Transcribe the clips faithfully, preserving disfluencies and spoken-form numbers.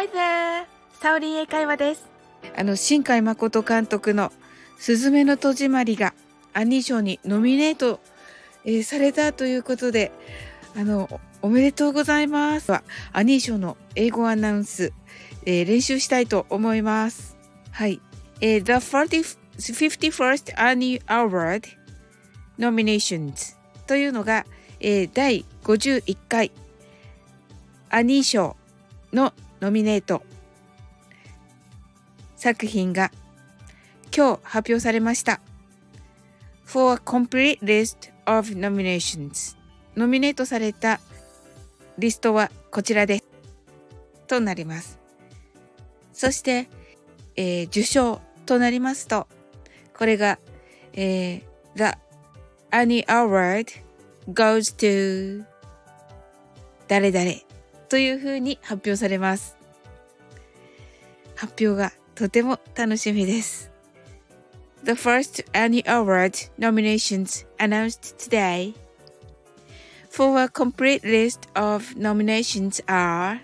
there! サオリン英会話です。 あの、新海誠監督のすずめの戸締まりがアニー賞にノミネート、えーされたということで、あの、おめでとうございます。アニー賞の英語アナウンス、えー練習したいと思います。はい。えー The フィフティファースト Annie Award Nominations というのが、えー、だいごじゅういっかいアニー賞のノミネート作品が今日発表されました。For a complete list of nominations ノミネートされたリストはこちらですとなります。そして、えー受賞となりますと、これが、えー The Annie Award goes to 誰々というふうに発表されます。発表がとても楽しみです。The first Annie Award nominations announced today. For a complete list of nominations are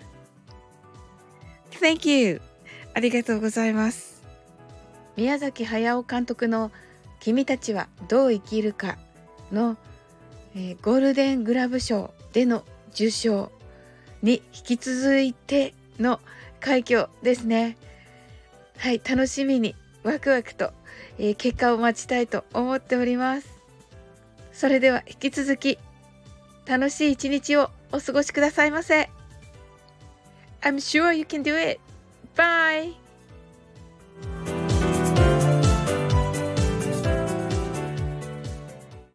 Thank you! ありがとうございます。宮崎駿監督の君たちはどう生きるかの、えーゴールデングラブ賞での受賞に引き続いての快挙ですね。はい、楽しみにワクワクと、えー結果を待ちたいと思っております。それでは引き続き楽しい一日をお過ごしくださいませ。I'm sure you can do it. Bye!